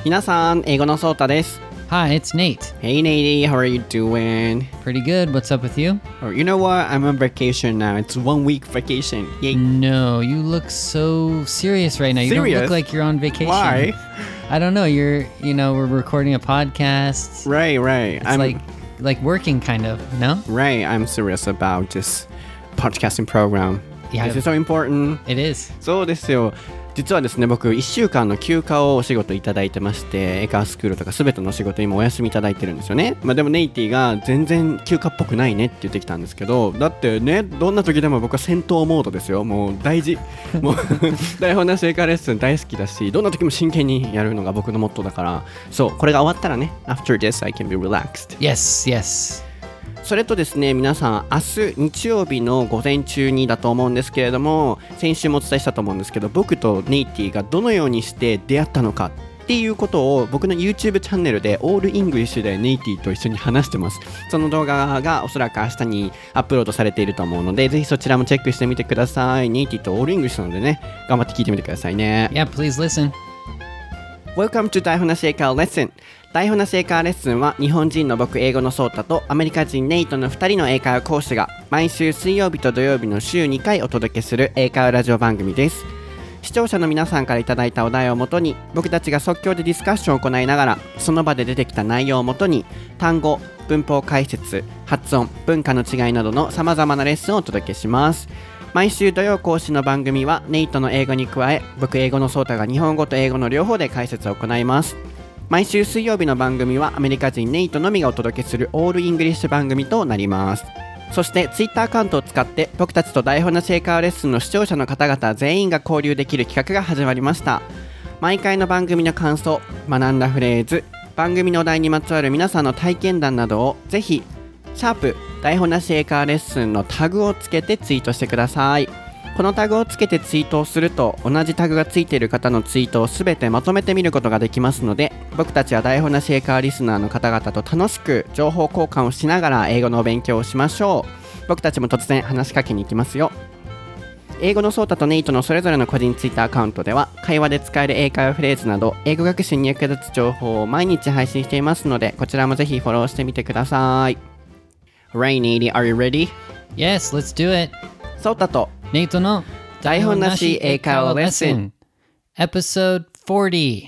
皆さん、英語のソータです。 Hi, it's Nate. Hey Nate, how are you doing? Pretty good. What's up with you? Oh, you know what? I'm on vacation now. It's 1 week vacation. Yay. No, you look so serious right now. You Serious? don't look like you're on vacation. Why? I don't know. We're recording a podcast. Right. It's like working kind of, no? Right, I'm serious about this podcasting program. Yeah. This is so important. It is. そうですよ。実はですね、僕1週間の休暇をお仕事いただいてまして、英会話スクールとか全ての仕事今お休みいただいてるんですよね。でもネイティが全然休暇っぽくないねって言ってきたんですけど、だってね、どんな時でも僕は戦闘モードですよ。もう大事。もう台本なし英会話レッスン大好きだし、どんな時も真剣にやるのが僕のモットーだから、そう、これが終わったらね、After this I can be relaxed. Yes. それとですね、皆さん明日日曜日の午前中にだと思うんですけれども、先週もお伝えしたと思うんですけど、僕とネイティがどのようにして出会ったのかっていうことを僕の YouTube チャンネルでオールイングリッシュでネイティと一緒に話してます。その動画がおそらく明日にアップロードされていると思うので、ぜひそちらもチェックしてみてください。ネイティとオールイングリッシュなのでね、頑張って聞いてみてくださいね。 Yeah, please listen. Welcome to 台本なし英会話レッスン。台本なし英会話レッスンは日本人の僕英語のソータとアメリカ人ネイトの2人の英会話講師が毎週水曜日と土曜日の週2回お届けする英会話ラジオ番組です。視聴者の皆さんからいただいたお題をもとに僕たちが即興でディスカッションを行いながらその場で出てきた内容をもとに単語、文法解説、発音、文化の違いなどの様々なレッスンをお届けします。毎週土曜更新の番組はネイトの英語に加え僕英語のソータが日本語と英語の両方で解説を行います。毎週水曜日の番組はアメリカ人ネイトのみがお届けするオールイングリッシュ番組となります。そしてツイッターアカウントを使って僕たちと台本なし英会話レッスンの視聴者の方々全員が交流できる企画が始まりました。毎回の番組の感想、学んだフレーズ、番組のお題にまつわる皆さんの体験談などをぜひシャープ台本なし英会話レッスンのタグをつけてツイートしてください。このタグをつけてツイートをすると同じタグがついている方のツイートをすべてまとめて見ることができますので、僕たちは台本なし英会話リスナーの方々と楽しく情報交換をしながら英語のお勉強をしましょう。僕たちも突然話しかけに行きますよ。英語のソータとネイトのそれぞれの個人ツイッターアカウントでは会話で使える英会話フレーズなど英語学習に役立つ情報を毎日配信していますので、こちらもぜひフォローしてみてください。Right, Nate, are you ready? Yes, let's do it. ソータとネイトの台本なし英会話レッスン Episode 40。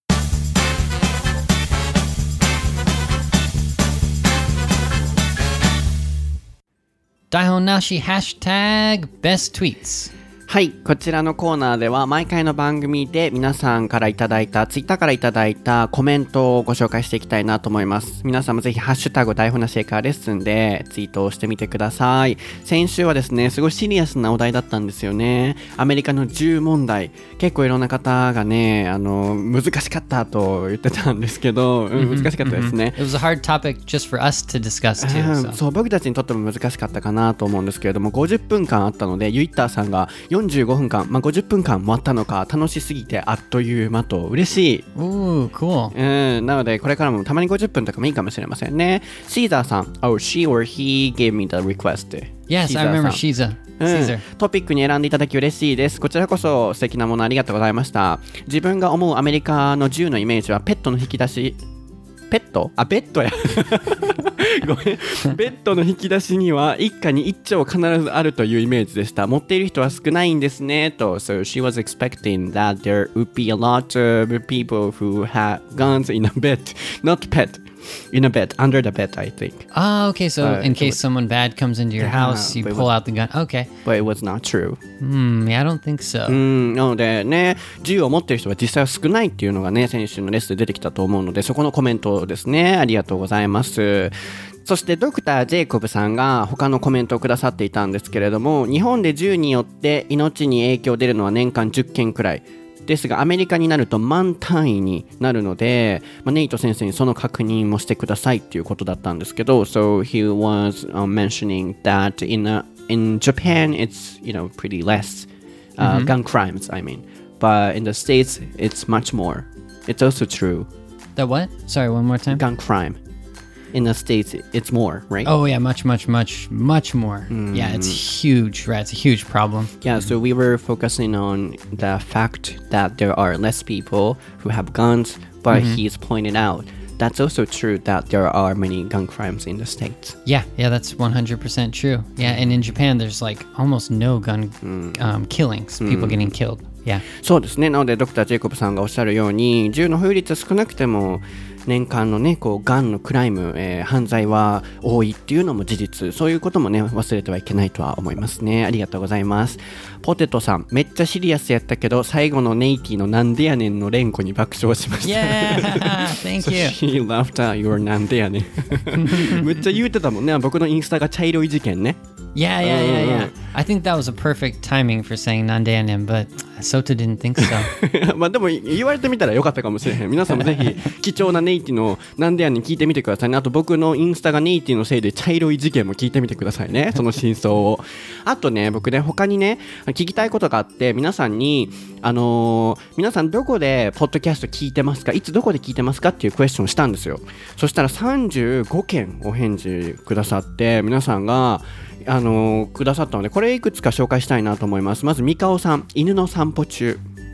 台本なしハッシュタグ Best Tweets。 はい、こちらのコーナーでは毎回の番組で皆さんからいただいたツイッターからいただいたコメントをご紹介していきたいなと思います。皆さんもぜひハッシュタグ台本なし英会話レッスンでツイートをしてみてください。先週はですね、すごいシリアスなお題だったんですよね。アメリカの銃問題、結構いろんな方がね、難しかったと言ってたんですけど、難しかったですね。 It was a hard topic just for us to discuss too. そう、僕たちにとっても難しかったかなと思うんですけれども、50分間あったのでユイッターさんが45分間、50分間もあったのか、楽しすぎてあっという間と嬉しい。 Ooh, cool. なのでこれからもたまに50分とかもいいかもしれませんね。シーザーさん、Oh, she or he gave me the request. Yes, I remember Caesar. トピックに選んでいただき嬉しいです。こちらこそ素敵なものありがとうございました。自分が思うアメリカの銃のイメージはペットの引き出し、ペット？ベッドやごめん、ベッドの引き出しには一家に一丁必ずあるというイメージでした。持っている人は少ないんですねと。So she was expecting that there would be a lot of people who had guns in a bed, not pet, in a bed, under the bed, I think. Ah, okay, so in case someone bad comes into your house, you pull out the gun. Okay. But it was not true. Yeah, I don't think so. なのでね、銃を持っている人は実際は少ないっていうのがね、先週のレッスンで出てきたと思うので、そこのコメントですね。ありがとうございます。そしてドクター・ジェイコブさんが他のコメントをくださっていたんですけれども、日本で銃によって命に影響出るのは年間10件くらいですが、アメリカになると万単位になるので、ネイト先生にその確認もしてくださいっていうことだったんですけど、So he was mentioning that in Japan it's pretty less gun crimes, I mean, but in the States it's much more. It's also true. The what? Sorry, one more time. Gun crime. In the States, it's more, right? Oh, yeah, much more. Yeah, it's huge, right? It's a huge problem. Yeah, so we were focusing on the fact that there are less people who have guns but he's pointed out that's also true that there are many gun crimes in the States. Yeah, that's 100% true. Yeah, and in Japan, there's like almost no gun killings, people getting killed. Yeah. そうですね。なのでドクタージェイコブさんがおっしゃるように、銃の保有率は少なくても年間のねこうガンのクライム、犯罪は多いっていうのも事実。そういうこともね忘れてはいけないとは思いますね。ありがとうございます。ポテトさん、めっちゃシリアスやったけど最後のネイティのなんでやねんの連呼に爆笑しました。 Yeah, thank you. She laughed at your なんでやねん。めっちゃ言うてたもんね。僕のインスタが茶色い事件ね。 Yeah. I think that was a perfect timing for saying nandeanen, but Sota didn't think so. まあでも言われてみたらよかったかもしれへん。皆さんもぜひ貴重なネイティのなんでやねん聞いてみてくださいね。あと僕のインスタがネイティのせいで茶色い事件も聞いてみてくださいね。その真相を。あとね、僕ね他にね聞きたいことがあって、皆さんに皆さんどこでポッドキャスト聞いてますか、いつどこで聞いてますかっていうクエスチョンをしたんですよ。そしたら35件お返事くださって、皆さんがくださったので、これいくつか紹介したいなと思います。まずミカオさん、犬の散歩中。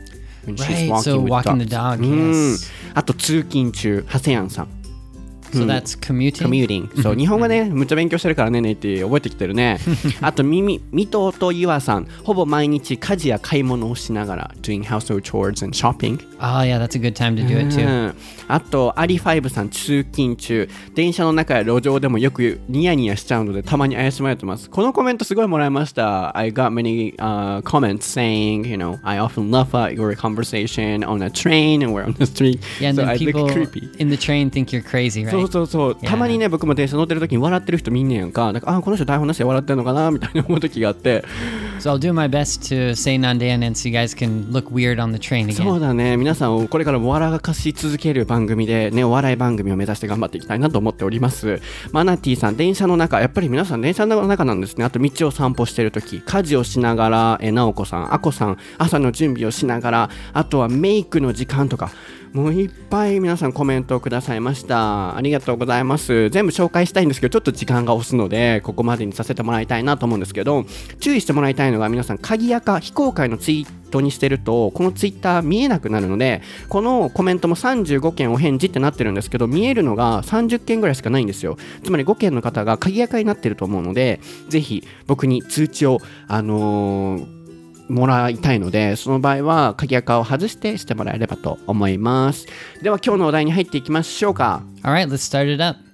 Right, so walking the dog, yes. あと通勤中、ハセヤンさん。 So that's commuting? そう、日本語ね、むっちゃ勉強してるからねって覚えてきてるね。あと、ミトとユアさん、ほぼ毎日家事や買い物をしながら doing household chores and shopping. Oh, yeah, that's a good time to do it too. あと、アリファイブさん、通勤中、電車の中や路上でもよくニヤニヤしちゃうので、たまに怪しまれてます。このコメントすごいもらいました。I got many comments saying, you know, I often laugh at your conversation on a train and we're on the street. Yeah, and so then I people look creepy. in the train think you're crazy, right? そう、たまにね僕も電車乗ってる時に笑ってる人見んねやんか。なんかこの人台本なしで笑ってんのかなみたいな思う時があって。 So I'll do my best to say nandeanen so you guys can look weird on the train again. そうだね、皆さんをこれからも笑かし続ける番組でね、お笑い番組を目指して頑張っていきたいなと思っております。マナティさん、電車の中、やっぱり皆さん電車の中なんですね。あと道を散歩してる時、家事をしながら、ナオコさん、アコさん、朝の準備をしながら、あとはメイクの時間とか、もういっぱい皆さんコメントをくださいました。ありがとうございます。全部紹介したいんですけど、ちょっと時間が押すのでここまでにさせてもらいたいなと思うんですけど、注意してもらいたいのが、皆さん鍵垢非公開のツイートにしてるとこのツイッター見えなくなるので、このコメントも35件お返事ってなってるんですけど、見えるのが30件ぐらいしかないんですよ。つまり5件の方が鍵垢になってると思うので、ぜひ僕に通知をもらいたいので、その場合は鍵垢を外してもらえればと思います。では今日のお題に入っていきましょうか。 Alright, let's start it up.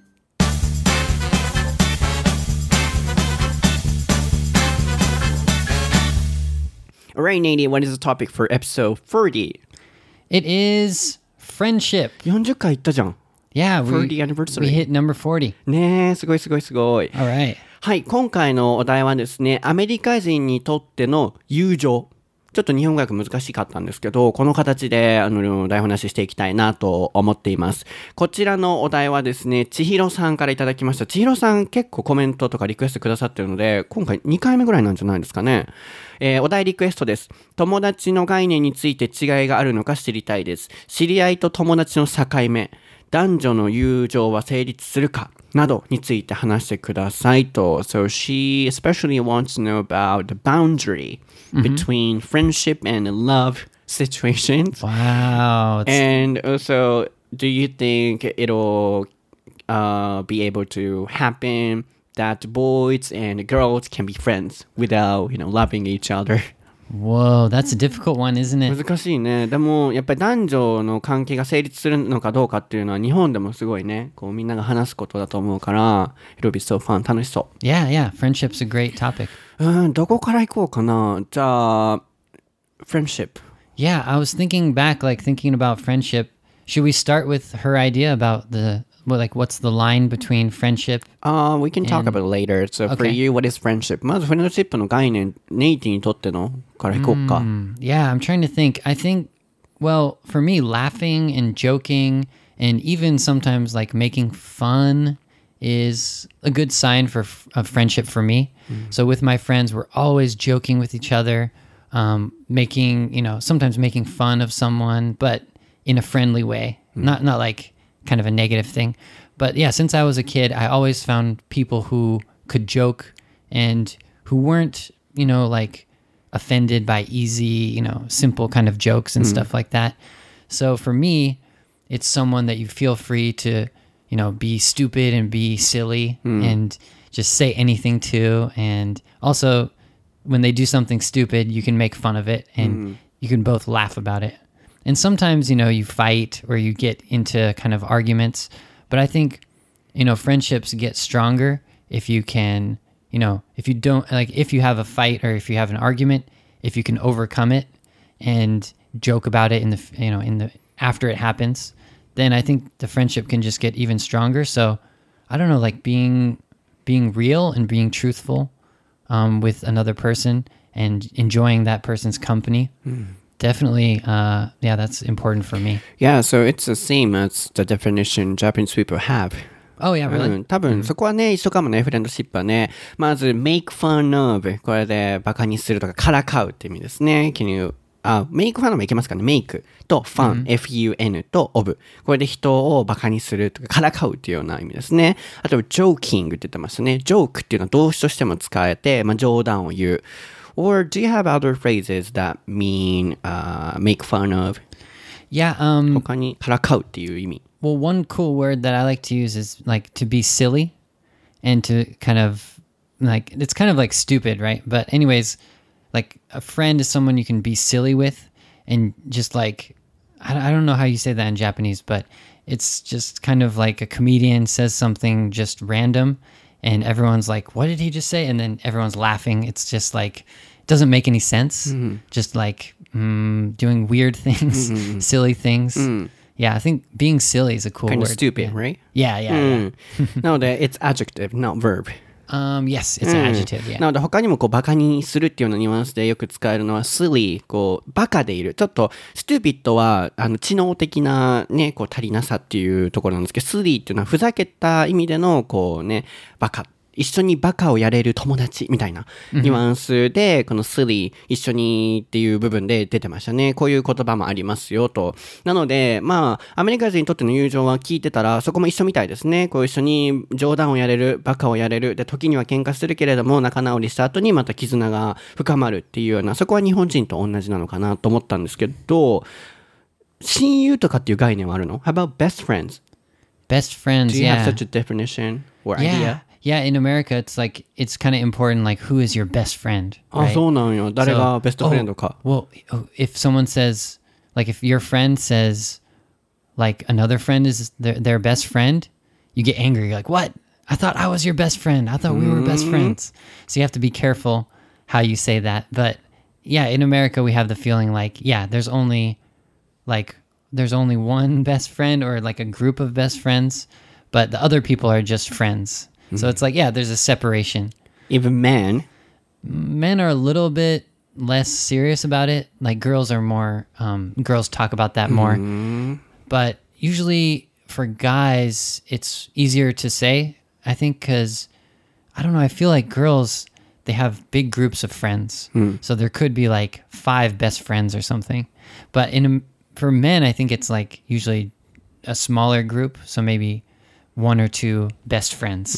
Alright, Nady, what is the topic for episode 30? It is friendship. 40回いったじゃん。 Yeah, 40 anniversary. we hit number 40. ねえ、すごい。 Alright. はい、今回のお題はですね、アメリカ人にとっての友情。ちょっと日本語訳難しかったんですけど、この形で台本なししていきたいなと思っています。こちらのお題はですね、千尋さんからいただきました。千尋さん結構コメントとかリクエストくださってるので、今回2回目ぐらいなんじゃないですかね。お題リクエストです。友達の概念について違いがあるのか知りたいです。知り合いと友達の境目、男女の友情は成立するかなどについて話してくださいと。So she especially wants to know about the boundary between friendship and love situations. Wow. And also, do you think it'll be able to happen that boys and girls can be friends without, loving each other? Whoa, that's a difficult one, isn't it? 難しいね。でもやっぱり男女の関係が成立するのかどうかっていうのは日本でもすごいね、こうみんなが話すことだと思うから、it'll be so fun. 楽しそう。 Yeah, friendship's a great topic. どこから行こうかな。じゃあ friendship. Yeah, I was thinking back, thinking about friendship. Should we start with her idea about what's the line between friendship? We can talk about it later. So for you, what is friendship? まずフレンドシップの概念、ネイティにとってのから行こうか。 Yeah, I'm trying to think. I think, well, for me, laughing and joking and even sometimes making fun is a good sign of friendship for me. So with my friends, we're always joking with each other, sometimes making fun of someone, but in a friendly way, not like kind of a negative thing. But yeah, since I was a kid, I always found people who could joke and who weren't, offended by easy, simple kind of jokes and stuff like that. So for me, it's someone that you feel free to, be stupid and be silly and just say anything to. And also, when they do something stupid, you can make fun of it and you can both laugh about it. And sometimes, you fight or you get into kind of arguments. But I think, friendships get stronger if you can, if you don't, like, if you have a fight or if you have an argument, if you can overcome it and joke about it after it happens, then I think the friendship can just get even stronger. So I don't know, like being real and being truthful with another person and enjoying that person's company. Definitely, that's important for me. Yeah, so it's the same as the definition Japanese people have. Oh, yeah, really? 多分そこはね、一緒かもね、フレンドシップはね。まず、make fun of。これで、バカにするとか、からかうって意味ですね。make fun of もいけますかね。make と fun、f-u-n と of。これで人をバカにするとか、からかうっていうような意味ですね。あと、joking って言ってましたね。joke っていうのは動詞としても使えて、冗談を言う。Or do you have other phrases that mean make fun of? Yeah, 他にからかうっていう意味。 Well, one cool word that I like to use is like to be silly and to kind of like, it's kind of like stupid, right? But anyways, like a friend is someone you can be silly with and just like, I don't know how you say that in Japanese, but it's just kind of like a comedian says something just random and everyone's like, what did he just say? And then everyone's laughing. It's just like, it doesn't make any sense. Just like doing weird things, silly things. Yeah, I think being silly is a cool kind word. Kind of stupid, right? Yeah. なので、it's adjective, not verb. Yes, it's an adjective, yeah. なので、他にもバカにするっていうようなニュアンスでよく使えるのは silly、バカでいる。ちょっと、stupid は、知能的なね、足りなさっていうところなんですけど、silly っていうのはふざけた意味での、バカ。一緒にバカをやれる友達みたいなニュアンスで、この silly 一緒にっていう部分で出てましたね。こういう言葉もありますよと。なので、アメリカ人にとっての友情は聞いてたら、そこも一緒みたいですね。一緒に冗談をやれる、バカをやれる。で、時には喧嘩するけれども、仲直りした後にまた絆が深まるっていうような、そこは日本人と同じなのかなと思ったんですけど、親友とかっていう概念はあるの？ How about best friends? Best friends, Do you yeah. have such a definition or idea? Yeah, in America, it's like, it's kind of important, like, who is your best friend? Right? そうなんよ。誰がベストフレンドか。 Well, if someone says, like, if your friend says, like, another friend is their best friend, you get angry. You're like, what? I thought I was your best friend. I thought we were best friends. So you have to be careful how you say that. But, yeah, in America, we have the feeling like, yeah, there's only one best friend or, like, a group of best friends, but the other people are just friends. So it's like, yeah, there's a separation. Even men are a little bit less serious about it. Like girls are more, girls talk about that more. But usually for guys, it's easier to say, I think, because, I don't know, I feel like girls, they have big groups of friends. So there could be like 5 best friends or something. But for men, I think it's like usually a smaller group. So maybe 1 or 2 best friends,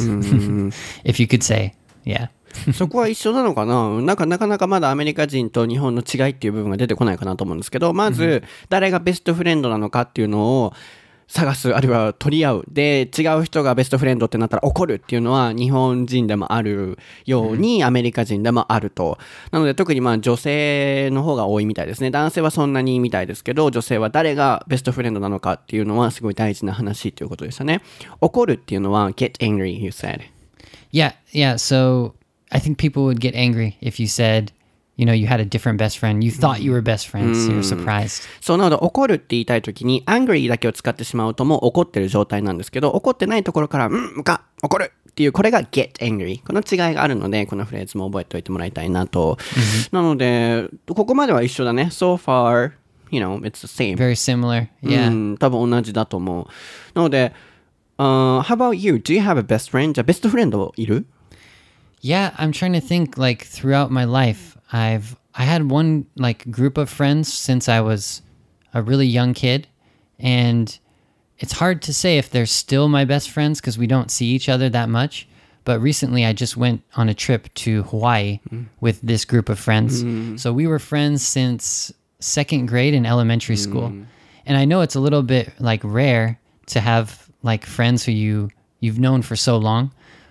if you could say, yeah. そこは一緒なのかな？なかなかまだアメリカ人と日本の違いっていう部分が出てこないかなと思うんですけど、まず誰がベストフレンドなのかっていうのを探す、あるいは取り合う。で、違う人がベストフレンドってなったら怒るっていうのは日本人でもあるようにアメリカ人でもあると。なので特に女性の方が多いみたいですね。男性はそんなにみたいですけど、女性は誰がベストフレンドなのかっていうのはすごい大事な話ということでしたね。怒るっていうのは get angry, you said. Yeah, so I think people would get angry if you said, you had a different best friend. You thought you were best friends. You're surprised. そうなので怒るって言いたいときに angry だけを使ってしまうともう怒ってる状態なんですけど、怒ってないところから怒るっていうこれが get angry。この違いがあるのでこのフレーズも覚えておいてもらいたいなと。なのでここまでは一緒だね。So far, it's the same. Very similar. Yeah. 多分同じだと思う。なので、how about you? Do you have a best friend? じゃあベストフレンドいる ？Yeah, I'm trying to think like throughout my life, I had one like group of friends since I was a really young kid, and it's hard to say if they're still my best friends because we don't see each other that much. But recently I just went on a trip to Hawaii with this group of friends. So we were friends since 2nd grade in elementary school. And I know it's a little bit like rare to have like friends who you've known for so long.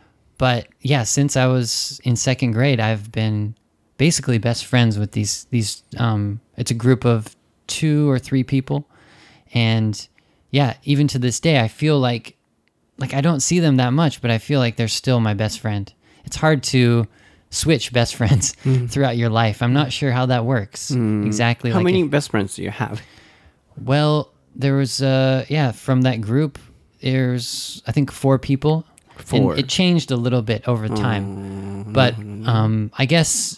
But yeah, since I was in second grade, I've been basically best friends with these it's a group of 2 or 3 people. And yeah, even to this day, I feel like I don't see them that much, but I feel like they're still my best friend. It's hard to switch best friends throughout your life. I'm not sure how that works exactly. How many best friends do you have? Well, there was from that group, there's I think 4 people. 4. And it changed a little bit over time. But I guess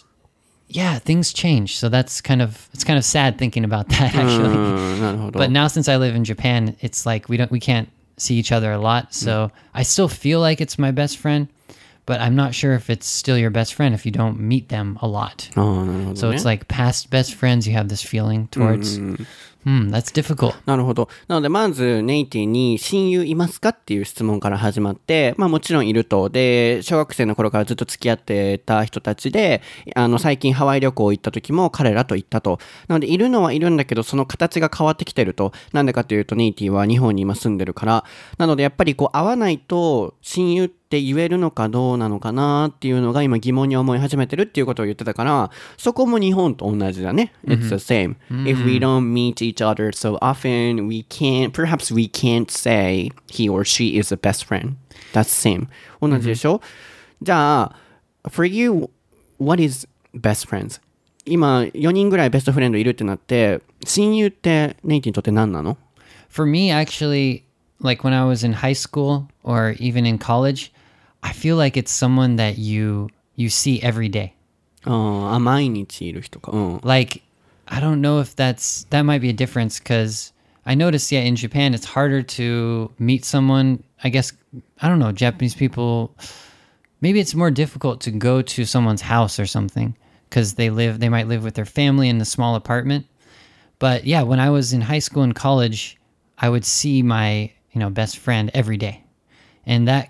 things change. So it's kind of sad thinking about that actually. But now since I live in Japan, it's like we can't see each other a lot. So I still feel like it's my best friend, but I'm not sure if it's still your best friend if you don't meet them a lot. So it's like past best friends you have this feeling towards. That's difficult. なるほど。なので、まず、ネイティに親友いますかっていう質問から始まって、まあもちろんいると。で、小学生の頃からずっと付き合ってた人たちで、最近ハワイ旅行行った時も彼らと行ったと。なので、いるのはいるんだけど、その形が変わってきてると。なんでかというと、ネイティは日本に今住んでるから。なので、やっぱりこう、会わないと、親友って言えるのかどうなのかなっていうのが今疑問に思い始めてるっていうことを言ってたから、そこも日本と同じだね。It's the same. If we don't meet each other so often, perhaps we can't say he or she is the best friend. That's same. 同じでしょ？じゃあ、for you, what is best friends? 今、4人ぐらいベストフレンドいるってなって、親友ってネイティにとって何なの？ For me, actually, like when I was in high school or even in college, I feel like it's someone that you see every day. 毎日いる人か。 Like, I don't know if that might be a difference because I noticed, in Japan, it's harder to meet someone. I guess, I don't know, Japanese people, maybe it's more difficult to go to someone's house or something because they might live with their family in a small apartment. But yeah, when I was in high school and college, I would see my, best friend every day. And that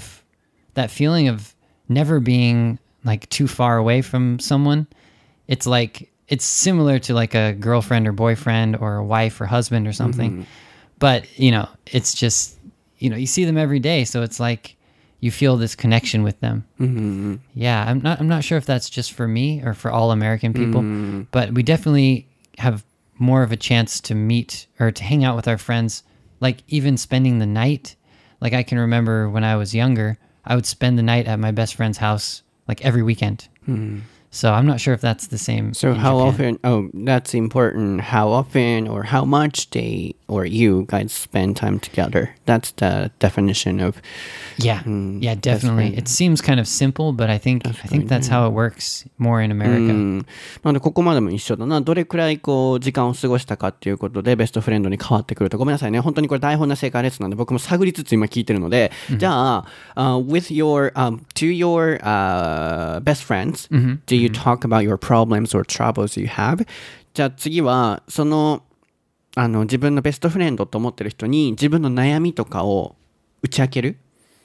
feeling of never being like too far away from someone, it's similar to like a girlfriend or boyfriend or a wife or husband or something. But, it's just, you see them every day. So it's like you feel this connection with them. Yeah, I'm not sure if that's just for me or for all American people, but we definitely have more of a chance to meet or to hang out with our friends, like even spending the night. Like I can remember when I was younger, I would spend the night at my best friend's house like every weekend. So I'm not sure if that's the same. So how often, that's important. How often or how much they or you guys spend time together. That's the definition of... Yeah, definitely. It seems kind of simple, but I think that's how it works more in America. なのでここまでも一緒だな。どれくらいこう時間を過ごしたかっていうことでベストフレンドに変わってくると。ごめんなさいね。本当にこれ台本な正解レッスンなんで僕も探りつつ今聞いてるので、じゃあ、with your, to your best friends, do you talk about your problems or troubles you have? じゃあ次はその自分のベストフレンドと思ってる人に自分の悩みとかを打ち明ける？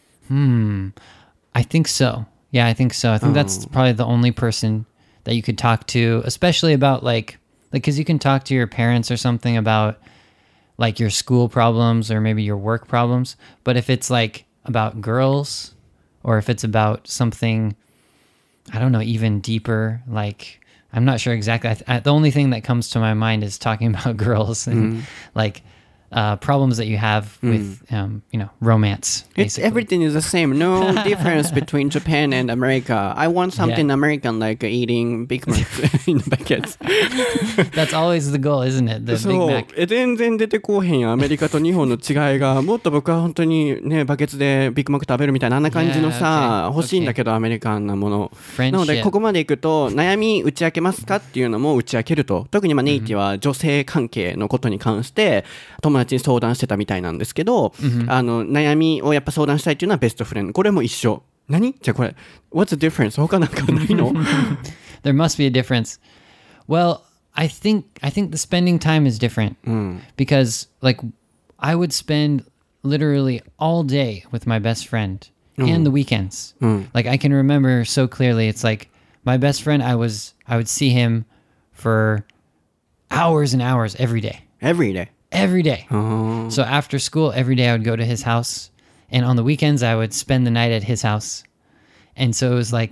I think so. Yeah, I think so. I think that's probably the only person that you could talk to, especially about like because you can talk to your parents or something about like your school problems or maybe your work problems. But if it's like about girls or if it's about something, I don't know, even deeper, like I'm not sure exactly. The only thing that comes to my mind is talking about girls and like problems that you have with, romance. It's everything is the same. No difference between Japan and America. I want something American like eating Big Mac in buckets. That's always the goal, isn't it? The Big Mac. 全然出てこうへんやんアメリカと日本の違いが。もっと僕は本当にねバケツでビッグマック食べるみたいなあんな感じのさ、欲しいんだけどアメリカンなもの。なのでここまでいくと悩み打ち明けますかっていうのも打ち明けると。特にネイティは女性関係のことに関して友達に相談してたみたいなんですけど、悩みをやっぱ相談したいっていうのはベストフレンド。これも一緒。何？じゃあこれ What's the difference? 他なんかないの？ There must be a difference. Well, I think the spending time is different because like I would spend literally all day with my best friend and the weekends. Like I can remember so clearly. It's like my best friend. I would see him for hours and hours every day. every day. Oh. So after school, every day I would go to his house. And on the weekends, I would spend the night at his house. And so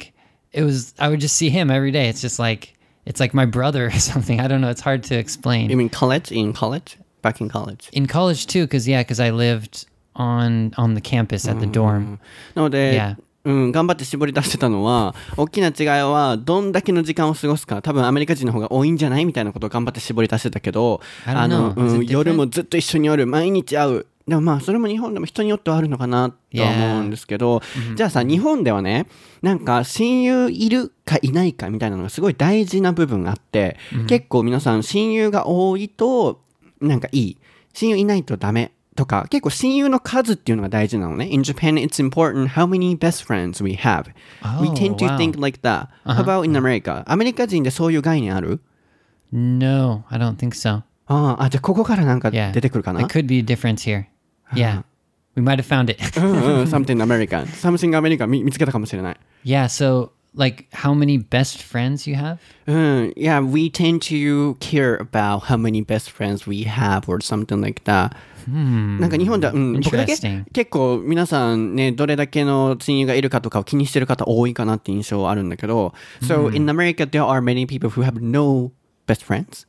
I would just see him every day. It's like my brother or something. I don't know. It's hard to explain. You mean college? In college? Back in college? In college too, because I lived on the campus at the dorm. なので、 Yeah. 頑張って絞り出してたのは、大きな違いはどんだけの時間を過ごすか、多分アメリカ人の方が多いんじゃないみたいなことを頑張って絞り出してたけど、 I don't know. Is it different? 夜もずっと一緒におる、毎日会う。でもまあそれも日本でも人によってはあるのかなとは思うんですけど、じゃあさ、日本ではね、なんか親友いるかいないかみたいなのがすごい大事な部分があって、結構皆さん親友が多いとなんかいい、親友いないとダメとか、結構親友の数っていうのが大事なのね。In Japan, it's important how many best friends we have. We tend to wow. think like that. How about in America? アメリカ人でそういう概念ある？ No, I don't think so. じゃあここからなんか Yeah. 出てくるかな？ It could be a difference here. Yeah. We might have found it. Something American. Something American 見つけたかもしれない。 Yeah, so like how many best friends you have? Yeah, we tend to care about how many best friends we have or something like that. なんか日本では、僕だけ Interesting. 結構皆さんね、どれだけの親友がいるかとかを気にしてる方多いかなって印象はあるんだけど、So in America, there are many people who have no best friends.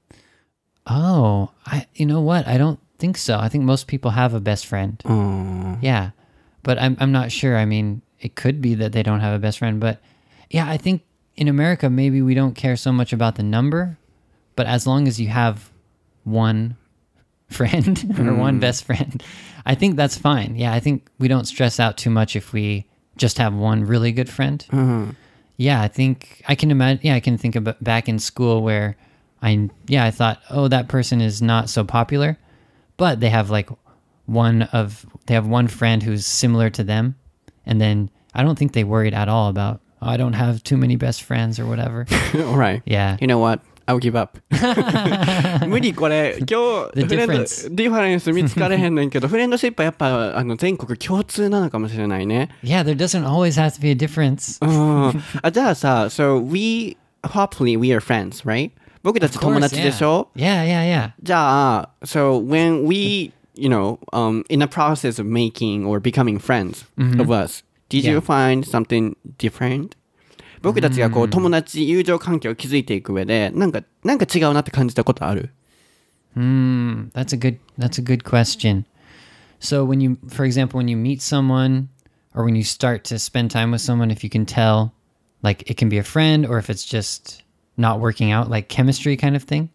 Oh, you know what? I don't think so. I think most people have a best friend. Yeah. But I'm not sure. I mean, it could be that they don't have a best friend, but yeah, I think in America maybe we don't care so much about the number, but as long as you have one friend or one best friend, I think that's fine. Yeah, I think we don't stress out too much if we just have one really good friend. Yeah, I think I can imagine. Yeah, I can think about back in school where I thought, oh, that person is not so popular, but they have one friend who's similar to them, and then I don't think they worried at all about, oh, I don't have too many best friends or whatever. Alright. Yeah. You know what? I'll give up. 無理これ今日 The フレンド difference. ディファレンス見つかれへんねんけどフレンドシップはやっぱ全国共通なのかもしれないね。 Yeah, there doesn't always have to be a difference. じゃあさ So hopefully we are friends, right? 僕たち Of course, 友達でしょ Yeah. じゃあ So when we in a process of making or becoming friends of us, did you Yeah. find something different? 僕たちがこう友達友情関係を築いていく上でなんか違うなって感じたことある？ That's a good question. So for example, when you meet someone or when you start to spend time with someone, if you can tell, like it can be a friend or if it's just not working out, like chemistry kind of thing.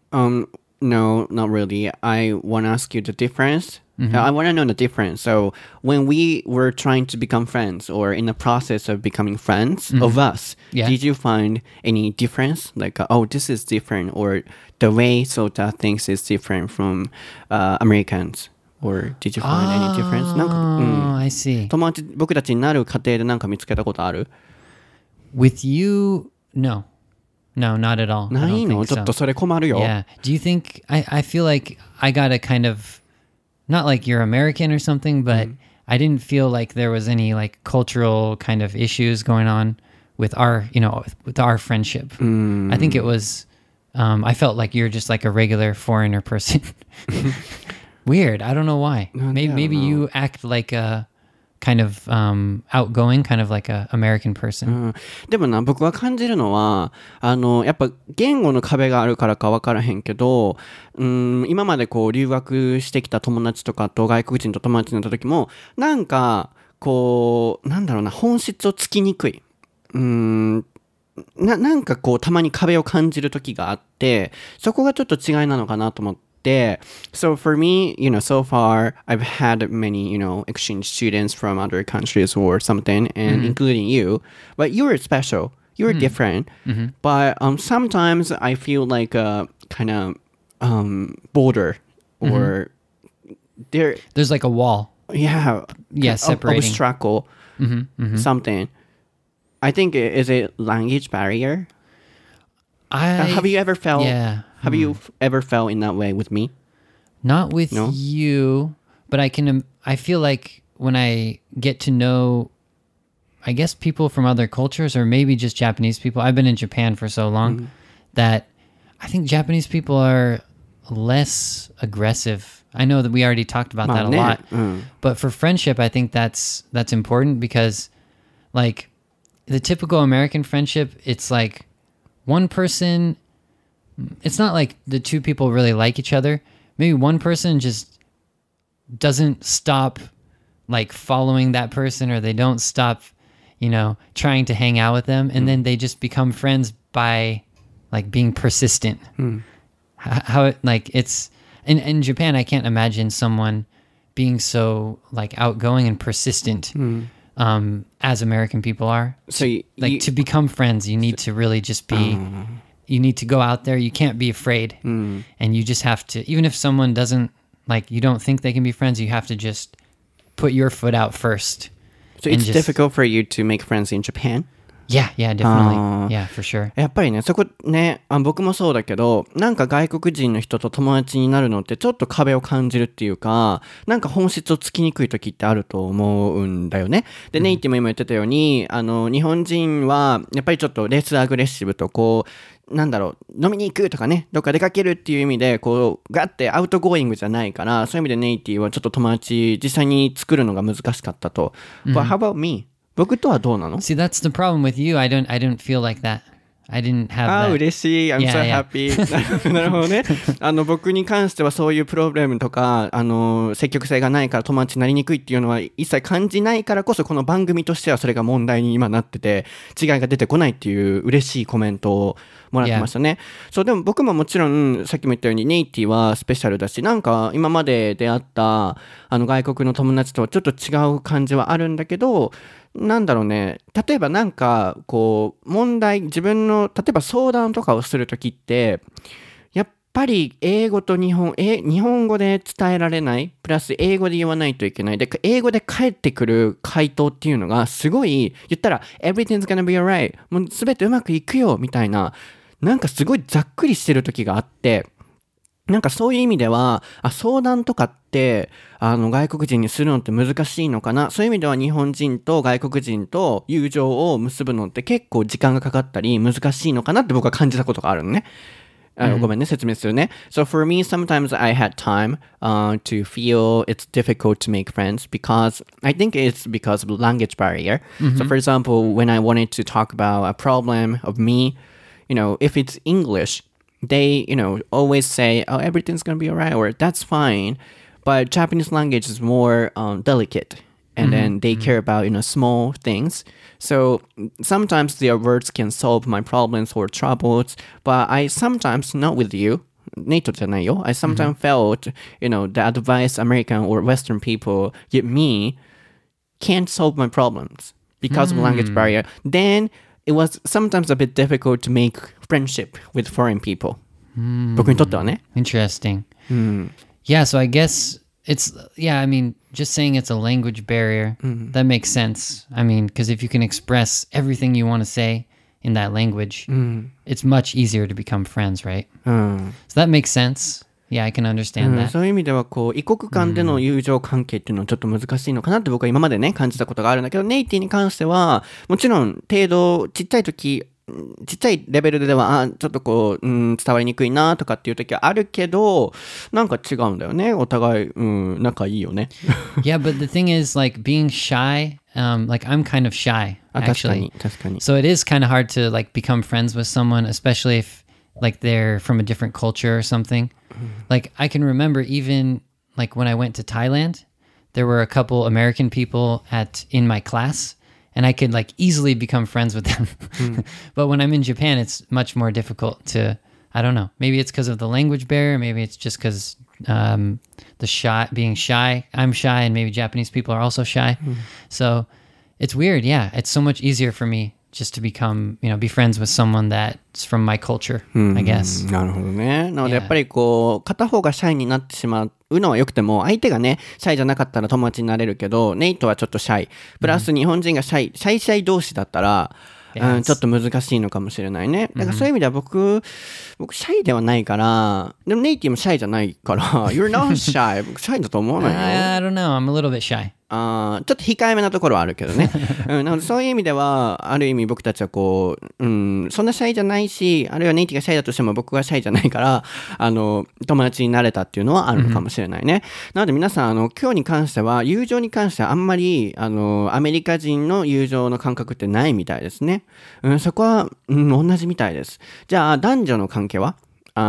No, not really. I want to ask you the difference. I want to know the difference. So when we were trying to become friends or in the process of becoming friends of us, Yeah. did you find any difference? Like, oh, this is different or the way Sota thinks is different from Americans? Or did you find any difference? なんか、 Oh, I see. 友達、僕たちになる過程でなんか見つけたことある？ With you, no, not at all. I ない don't の？ think ちょっ so. とそれ困るよ。 Yeah. Do you think I feel like I got a kind of not like you're American or something, but I didn't feel like there was any like cultural kind of issues going on with our friendship. I think it was I felt like you're just like a regular foreigner person. Weird. I don't know why. Maybe you act like a kind of outgoing, kind of like a American person. でもな、僕は感じるのは、やっぱ言語の壁があるからか分からへんけど、今までこう留学してきた友達とかと外国人と友達になった時も、なんか、こう、なんだろうな、本質をつきにくい。なんかこう、たまに壁を感じる時があって、そこがちょっと違いなのかなと思って、So for me, so far I've had many, exchange students from other countries or something, and including you. But you're special. You're different. But sometimes I feel like a kind of border or There's like a wall. Yeah, separating. Obstacle, something. I think is it language barrier? Have you ever felt? Yeah. Have you ever felt in that way with me? Not with No? you, but I feel like when I get to know, I guess, people from other cultures or maybe just Japanese people. I've been in Japan for so long that I think Japanese people are less aggressive. I know that we already talked about that a lot. But for friendship, I think that's important because like the typical American friendship, it's like one person, it's not like the two people really like each other. Maybe one person just doesn't stop like following that person, or they don't stop, trying to hang out with them. And then they just become friends by like being persistent. How it, like it's in Japan, I can't imagine someone being so like outgoing and persistent as American people are. So to become friends, you need to really just be. You need to go out there. You can't be afraid, and you just have to. Even if someone doesn't like, you don't think they can be friends, you have to just put your foot out first. So it's difficult for you to make friends in Japan? Yeah, definitely. Yeah, for sure. やっぱりね、そこね、僕もそうだけど、なんか外国人の人と友達になるのってちょっと壁を感じるっていうか、なんか本質をつきにくい時ってあると思うんだよね。で、ネイティも今言ってたように、日本人はやっぱりちょっとレスアグレッシブとこう、なんだろう、飲みに行くとかね、どっか出かけるっていう意味で、こう、ガッてアウトゴーイングじゃないから、そういう意味でネイティはちょっと友達実際に作るのが難しかったと。But how about me?僕とはどうなの？ See, that's the problem with you. I didn't feel like that. I didn't have that. 嬉しい。I'm so happy. なるほどね。僕に関してはそういうプロブレムとか、積極性がないから友達になりにくいっていうのは一切感じないからこそ、この番組としてはそれが問題に今なってて、違いが出てこないっていう嬉しいコメントをもらってましたね。そう、でも僕ももちろん、さっきも言ったようにネイティはスペシャルだし、なんか今まで出会った外国の友達とはちょっと違う感じはあるんだけど、なんだろうね、例えばなんかこう自分の例えば相談とかをするときってやっぱり英語と日本語で伝えられない、プラス英語で言わないといけない、で英語で返ってくる回答っていうのがすごい、言ったら everything's gonna be alright、 もう全てうまくいくよみたいな、なんかすごいざっくりしてる時があって、なんかそういう意味では相談とかって外国人にするのって難しいのかな。そういう意味では日本人と外国人と友情を結ぶのって結構時間がかかったり難しいのかなって僕は感じたことがあるのね。ごめんね、説明するね。So for me, sometimes I had time to feel it's difficult to make friends because I think it's because of language barrier. So for example, when I wanted to talk about a problem of me, if it's English,they, always say, oh, everything's going to be all right, or that's fine. But Japanese language is more delicate. And then they care about, small things. So sometimes their words can solve my problems or troubles. But I sometimes, not with you, Nato じゃないよ. I sometimes felt, the advice American or Western people give me can't solve my problems because of language barrier. Then it was sometimes a bit difficult to make friendship with foreign people. 僕にとってはね。 Interesting. Yeah, so I guess I mean, just saying it's a language barrier, that makes sense. I mean, because if you can express everything you want to say in that language, it's much easier to become friends, right? So that makes sense. Yeah, I can understand that. そういう意味では異国間での友情関係っていうのはちょっと難しいのかなって僕は今までね感じたことがあるんだけど、ネイティに関してはもちろん程度ちっちゃいレベルではちょっと伝わりにくいなとかっていう時はあるけど、なんか違うんだよね、お互い仲いいよね。 Yeah, but the thing is like being shy, like I'm kind of shy actually. 確かに So it is kind of hard to like become friends with someone, especially if like they're from a different culture or something. Like I can remember even like when I went to Thailand, there were a couple American people in my class, and I could like easily become friends with them. But when I'm in Japan, it's much more difficult to, I don't know, maybe it's because of the language barrier, maybe it's just because being shy, I'm shy, and maybe Japanese people are also shy. So it's weird. Yeah, it's so much easier for me just to become, be friends with someone that's from my culture, I guess. なるほどね。なのでやっぱり片方がシャイになってしまうのは良くても、相手がねシャイじゃなかったら友達になれるけど、ネイトはちょっとシャイ、プラス日本人がシャイ同士だったら、ちょっと難しいのかもしれないね。だからそういう意味では僕シャイではないから、でもネイティもシャイじゃないから、You're not shy. 僕シャイだと思わないよ。 I don't know. I'm a little bit shy. ちょっと控えめなところはあるけどね。なのでそういう意味では、ある意味僕たちはこう、そんなシャイじゃないし、あるいはネイティがシャイだとしても僕がシャイじゃないから、友達になれたっていうのはあるのかもしれないね。なので皆さん、今日に関しては、友情に関してはあんまり、アメリカ人の友情の感覚ってないみたいですね。そこは、同じみたいです。じゃあ、男女の関係は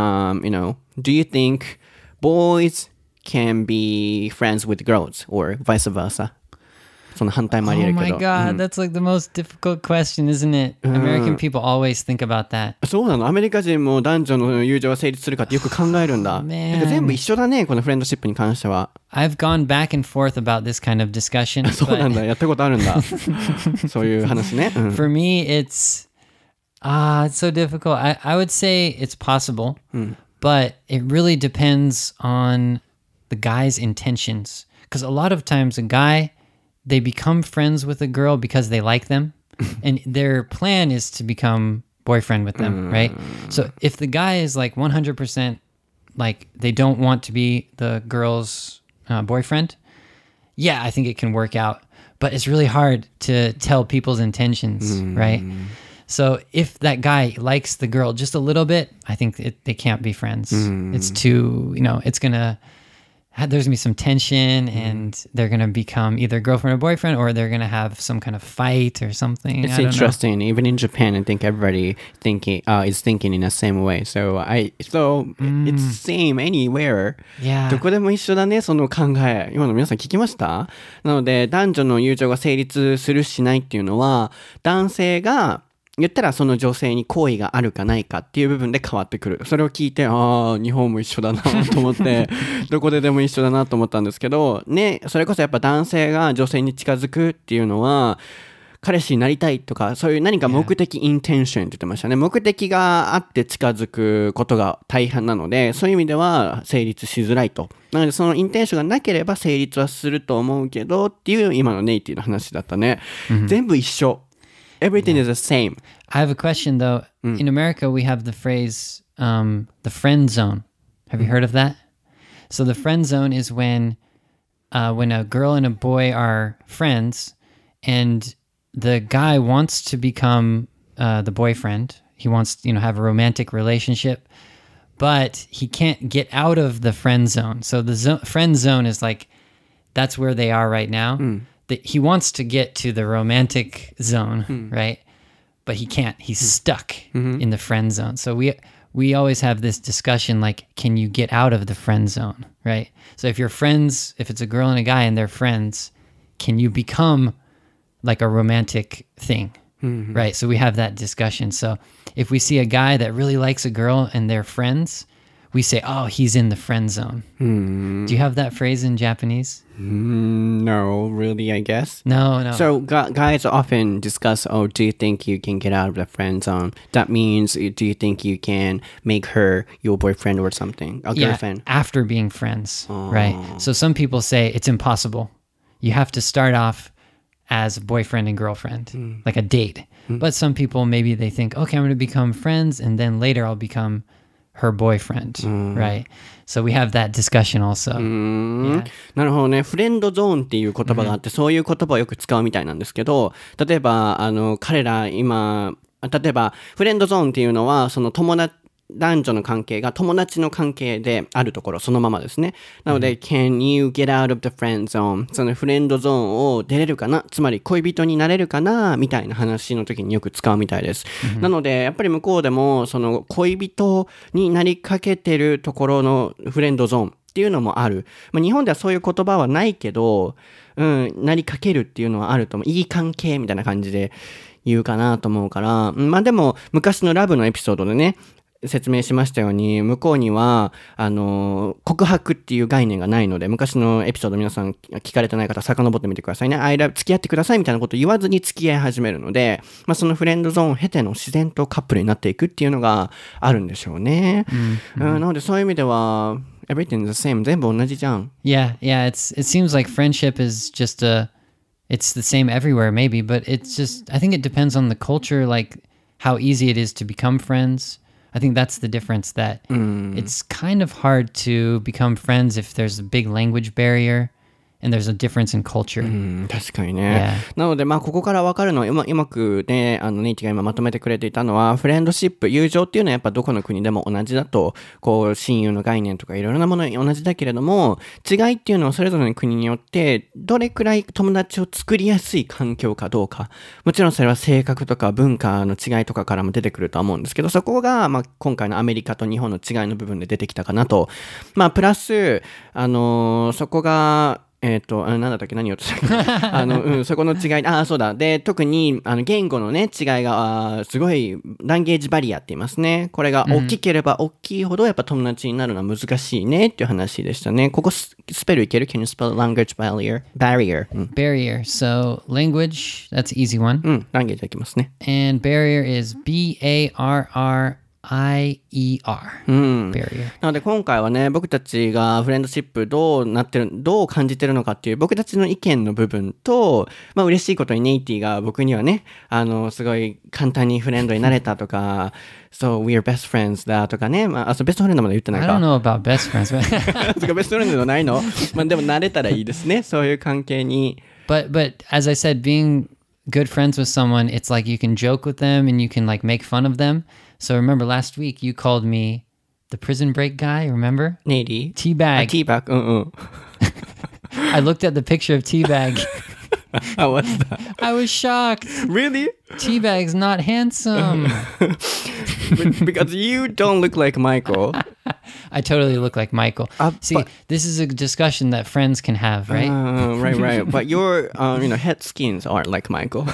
do you think boys can be friends with girls or vice versa? その反対もあり得るけど。 Oh my god, that's like the most difficult question, isn't it? American people always think about that. そうなの。アメリカ人も男女の友情は成立するかってよく考えるんだ。 Man. なんか全部一緒だね、このフレンドシップに関しては。 I've gone back and forth about this kind of discussion. そうなんだ。やったことあるんだ。そういう話ね。 For me, it's so difficult. I would say it's possible, but it really depends on the guy's intentions. Because a lot of times a guy, they become friends with a girl because they like them, and their plan is to become boyfriend with them, right? So if the guy is like 100% like they don't want to be the girl's boyfriend, yeah, I think it can work out. But it's really hard to tell people's intentions, right? So if that guy likes the girl just a little bit, I think they can't be friends. It's too, it's there's going to be some tension and they're going to become either girlfriend or boyfriend, or they're going to have some kind of fight or something. It's I don't interesting. Know. Even in Japan, I think everybody is thinking in the same way. So it's same anywhere. Yeah. どこでも一緒だね、その考え。今の皆さん聞きました？なので、男女の友情が成立するしないっていうのは、男性が言ったらその女性に好意があるかないかっていう部分で変わってくる。それを聞いて、日本も一緒だなと思って、どこででも一緒だなと思ったんですけど、ね、それこそやっぱ男性が女性に近づくっていうのは、彼氏になりたいとか、そういう何か目的、インテンションって言ってましたね。目的があって近づくことが大半なので、そういう意味では成立しづらいと。なのでそのインテンションがなければ成立はすると思うけどっていう今のネイティの話だったね。全部一緒。Everything is the same. I have a question though. In America, we have the phrase, the friend zone. Have you heard of that? So the friend zone is when a girl and a boy are friends and the guy wants to become the boyfriend. He wants to, have a romantic relationship, but he can't get out of the friend zone. So the friend zone is like, that's where they are right now. He wants to get to the romantic zone, right? But he can't. He's stuck in the friend zone. So we always have this discussion like, can you get out of the friend zone, right? So if you're friends, if it's a girl and a guy and they're friends, can you become like a romantic thing, right? So we have that discussion. So if we see a guy that really likes a girl and they're friends, we say, oh, he's in the friend zone. Do you have that phrase in Japanese? No, really, I guess. No. So guys often discuss, do you think you can get out of the friend zone? That means, do you think you can make her your boyfriend or something? A girlfriend? After being friends, right? So some people say it's impossible. You have to start off as boyfriend and girlfriend, like a date. But some people, maybe they think, okay, I'm going to become friends and then later I'll become her boyfriend, right? So we have that discussion also. なるほどね。フレンドゾーンっていう言葉があって、そういう言葉をよく使うみたいなんですけど、例えば、彼ら今、例えば、フレンドゾーンっていうのは、その男女の関係が友達の関係であるところそのままですね。なので、can you get out of the friend zone? そのフレンドゾーンを出れるかな、つまり恋人になれるかなみたいな話の時によく使うみたいです。なので、やっぱり向こうでもその恋人になりかけてるところのフレンドゾーンっていうのもある。日本ではそういう言葉はないけど、なりかけるっていうのはあると思う。いい関係みたいな感じで言うかなと思うから、でも昔のラブのエピソードでね、説明しましたように、向こうには、告白っていう概念がないので、昔のエピソード皆さん聞かれてない方、遡ってみてくださいね。付き合ってくださいみたいなことを言わずに付き合い始めるので、そのフレンドゾーンを経ての自然とカップルになっていくっていうのがあるんでしょうね。なのでそういう意味では、everything is the same. 全部同じじゃん。 Yeah, it seems like friendship is just it's the same everywhere maybe, but it's just, I think it depends on the culture, like how easy it is to become friends. I think that's the difference, that it's kind of hard to become friends if there's a big language barrier and there's a difference in culture. 確かにね。なので、ここから分かるのは、うまくね、ネイティが今まとめてくれていたのは、フレンドシップ、友情っていうのはやっぱどこの国でも同じだと、親友の概念とかいろいろなもの同じだけれども、違いっていうのはそれぞれの国によって、どれくらい友達を作りやすい環境かどうか。もちろんそれは性格とか文化の違いとかからも出てくるとは思うんですけど、そこが、今回のアメリカと日本の違いの部分で出てきたかなと。プラス、そこが、なんだったっけ何言おうとしたっけそこの違い、そうだ。で、特に、言語のね、違いが、すごい、ランゲージバリアって言いますね。これが大きければ大きいほど、やっぱ友達になるのは難しいねっていう話でしたね。ここスペルいける？ Can you spell language barrier? Barrier. So, language, that's an easy one. ランゲージいきますね。 And barrier is B-A-R-R-I-E-R. barrier. なので今回はね、僕たちがフレンドシップどう感じてるのかっていう僕たちの意見の部分と、嬉しいことにネイティが僕にはね、すごい簡単にフレンドになれたとか、So we're best friends だとかね、ベストフレンドまで言ってないか。 I don't know about best friends. とかベストフレンドじゃないの？でもなれたらいいですね、そういう関係に。 But as I said, being good friends with someone, it's like you can joke with them and you can like make fun of them. So remember last week you called me the prison break guy, remember? Nady? Teabag. Teabag, I looked at the picture of Teabag. How was that? I was shocked. Really? Teabag's not handsome. Because you don't look like Michael. I totally look like Michael. See, this is a discussion that friends can have, right? Right. But your, head skins aren't like Michael.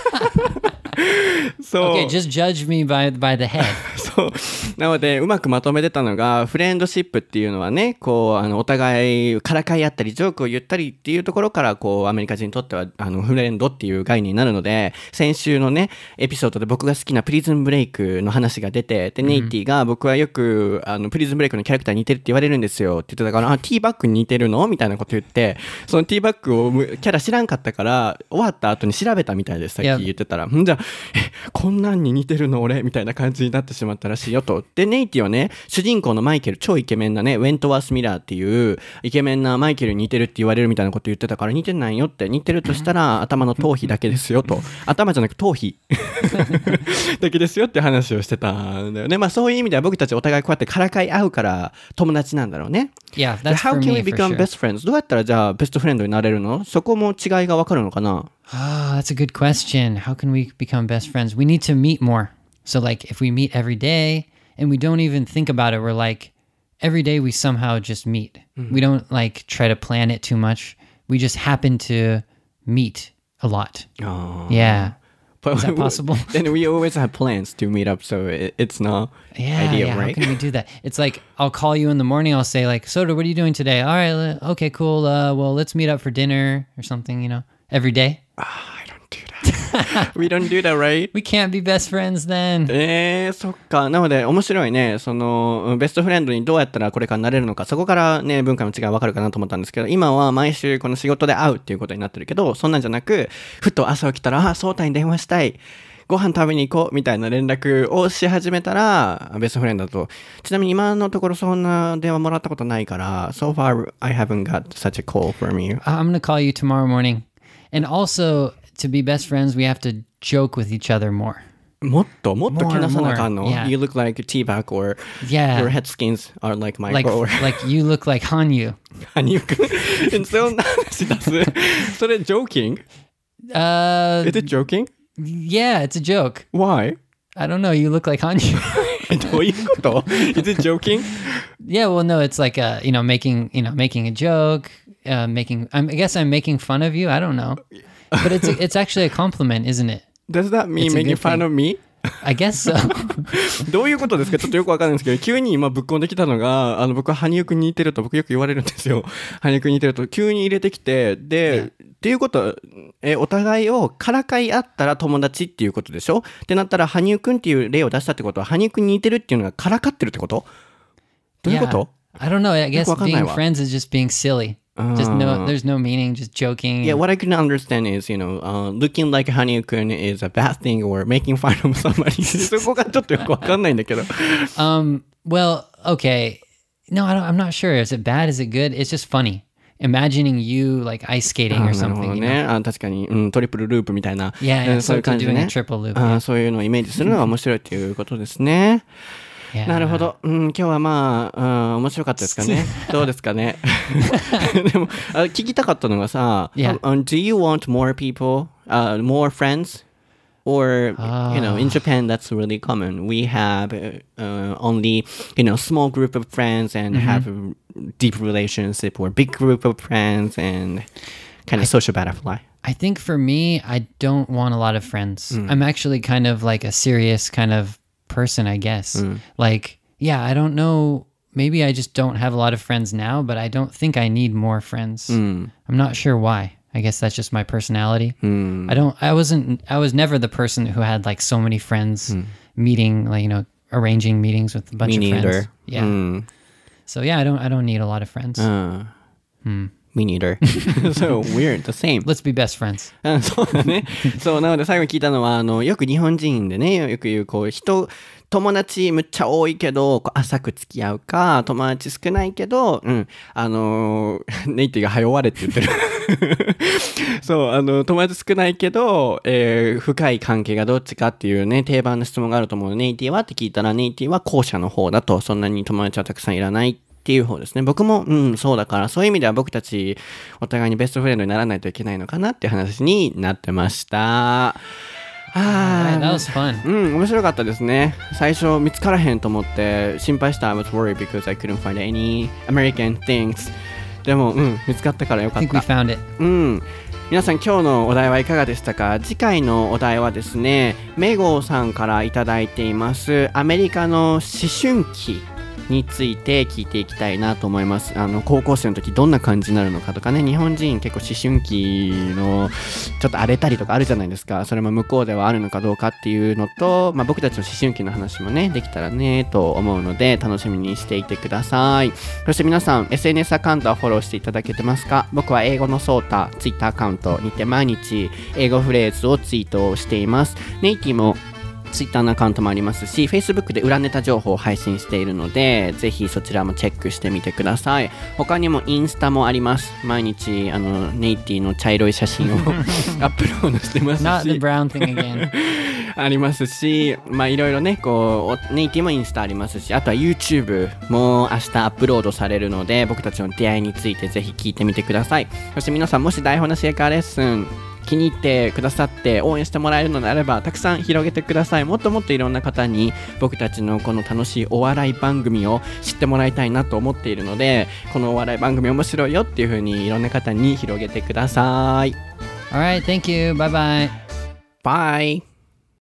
Okay, just judge me by the head. そう。なので、うまくまとめてたのが、フレンドシップっていうのはね、お互いからかい合ったり、ジョークを言ったりっていうところから、アメリカ人にとっては、フレンドっていう概念になるので、先週のね、エピソードで僕が好きなプリズンブレイクの話が出て、で、ネイティが僕はよく、プリズンブレイクのキャラクターに似てるって言われるんですよって言ってたから、ティーバッグに似てるのみたいなこと言って、そのティーバッグをキャラ知らんかったから、終わった後に調べたみたいです、さっき言ってたら。じゃあ、こんなんに似てるの俺みたいな感じになってしまったらしいよと。で、ネイティはね、主人公のマイケル、超イケメンなね、ウェントワース・ミラーっていうイケメンなマイケルに似てるって言われるみたいなこと言ってたから、似てないよって、似てるとしたら頭の頭皮だけですよと。頭じゃなく頭皮だけですよって話をしてたんだよね。そういう意味では僕たちお互いこうやってからかい合うから友達なんだろうね。 Yeah, that's for me, How can we become best friends? どうやったらじゃあベストフレンドになれるの？そこも違いがわかるのかな？ That's a good question. How can we become best friends? We need to meet more. So like if we meet every day and we don't even think about it, we're like every day we somehow just meet. We don't like try to plan it too much. We just happen to meet a lot. Yeah. Is that possible? Then we always have plans to meet up, so it's not ideal, right? How can we do that? It's like I'll call you in the morning. I'll say like, Soda, what are you doing today? All right, okay, cool. Well, let's meet up for dinner or something. Every day. I don't do that. We don't do that, right? We can't be best friends then. そっか。なので面白いね。そのベストフレンドにどうやったらこれからなれるのか、そこからね文化の違いわかるかなと思ったんですけど、今は毎週この仕事で会うっていうことになってるけど、そんなんじゃなく、ふと朝起きたらソータに電話したい。ご飯食べに行こうみたいな連絡をし始めたらベストフレンドだと。ちなみに今のところそんな電話もらったことないから、So far I haven't got such a call from you. I'm gonna call you tomorrow morning. And also, to be best friends, we have to joke with each other more. もっとけなさなあかんの？ Yeah. You look like Teabag or Yeah. your head skins are like Michael. Like you look like Hanyu. 羽生くんそんな話出すそれ joking? Is it joking? Yeah, it's a joke. Why? I don't know. You look like Hanyu. どういうこと？ Is it joking? Yeah, well, no, it's like making a joke, I guess I'm making fun of you. I don't know, but it's actually a compliment, isn't it? Does that mean making fun of me? I guess so. どういうことですか？ちょっとよくわかんないんですけど、急に今ぶっこんできたのが、僕は羽生くんに似てると僕よく言われるんですよ。羽生くんに似てると急に入れてきて、で、っていうことは、お互いをからかい合ったら友達っていうことでしょ？ってなったら羽生くんっていう例を出したってことは、羽生くんに似てるっていうのがからかってるってこと？どういうこと？ I don't know. I guess being friends is just being silly. There's no meaning, just joking. Yeah, what I can understand is, looking like Hanyu-kun is a bad thing or making fun of somebody. そこがちょっとよくわかんないんだけど。 Well, okay. No, I'm not sure. Is it bad? Is it good? It's just funny. imagining you like ice skating な or るほ something. ど You ね。 know? 確かに、トリプルループみたいな。 Yeah, yeah. そういう So 感じで doing a ね。 triple loop. そういうのをイメージするのが面白いということですね。 Yeah. なるほど。今日はまあ、面白かったですかね。どうですかね。でも、聞きたかったのがさ、 Yeah. Do you want more people, more friends? Or, in Japan, that's really common. We have only, small group of friends and have a deep relationship or big group of friends and kind of social butterfly. I think for me, I don't want a lot of friends. I'm actually kind of like a serious kind of person, I guess. Like, yeah, I don't know. Maybe I just don't have a lot of friends now, but I don't think I need more friends. I'm not sure why. I guess that's just my personality. I was never the person who had like so many friends meeting, like, arranging meetings with a bunch Me of friends. neither. Yeah. So yeah, I don't need a lot of friends. Me neither. So weird, the same. Let's be best friends. そうだね。そう、なので最後に聞いたのは、よく日本人でね、よく言う、友達むっちゃ多いけど、浅く付き合うか、友達少ないけど、ネイティが早終われって言ってる。そう、友達少ないけど、深い関係がどっちかっていうね、定番の質問があると思うので、ネイティはって聞いたら、ネイティは後者の方だと、そんなに友達はたくさんいらないっていう方ですね。僕も、そうだから、そういう意味では僕たち、お互いにベストフレンドにならないといけないのかなっていう話になってました。 Alright, that was fun. 面白かったですね。最初見つからへんと思って心配した。I was worried because I couldn't find any American things. でも、見つかったからよかっ I think we た。 found it. 皆さん今日のお題はいかがでしたか？次回のお題はですね、メゴさんからいただいていますアメリカの思春期について聞いていきたいなと思います。高校生の時どんな感じになるのかとかね、日本人結構思春期のちょっと荒れたりとかあるじゃないですか。それも向こうではあるのかどうかっていうのと、僕たちの思春期の話もねできたらねと思うので楽しみにしていてください。そして皆さん SNS アカウントはフォローしていただけてますか？僕は英語のソータ Twitter アカウントにて毎日英語フレーズをツイートしています。ネイティもツイッターのアカウントもありますし、Facebook で裏ネタ情報を配信しているので、ぜひそちらもチェックしてみてください。他にもインスタもあります。毎日ネイティの茶色い写真をアップロードしてますし Not the brown thing again. ありますし、いろいろね、ネイティもインスタありますし、あとは YouTube も明日アップロードされるので、僕たちの出会いについてぜひ聞いてみてください。そして皆さん、もし台本のシェイカーレッスン気に入ってくださって応援してもらえるのであればたくさん広げてください。もっともっといろんな方に僕たちのこの楽しいお笑い番組を知ってもらいたいなと思っているので、このお笑い番組面白いよっていう風にいろんな方に広げてください。 Alright, thank you. Bye bye. Bye.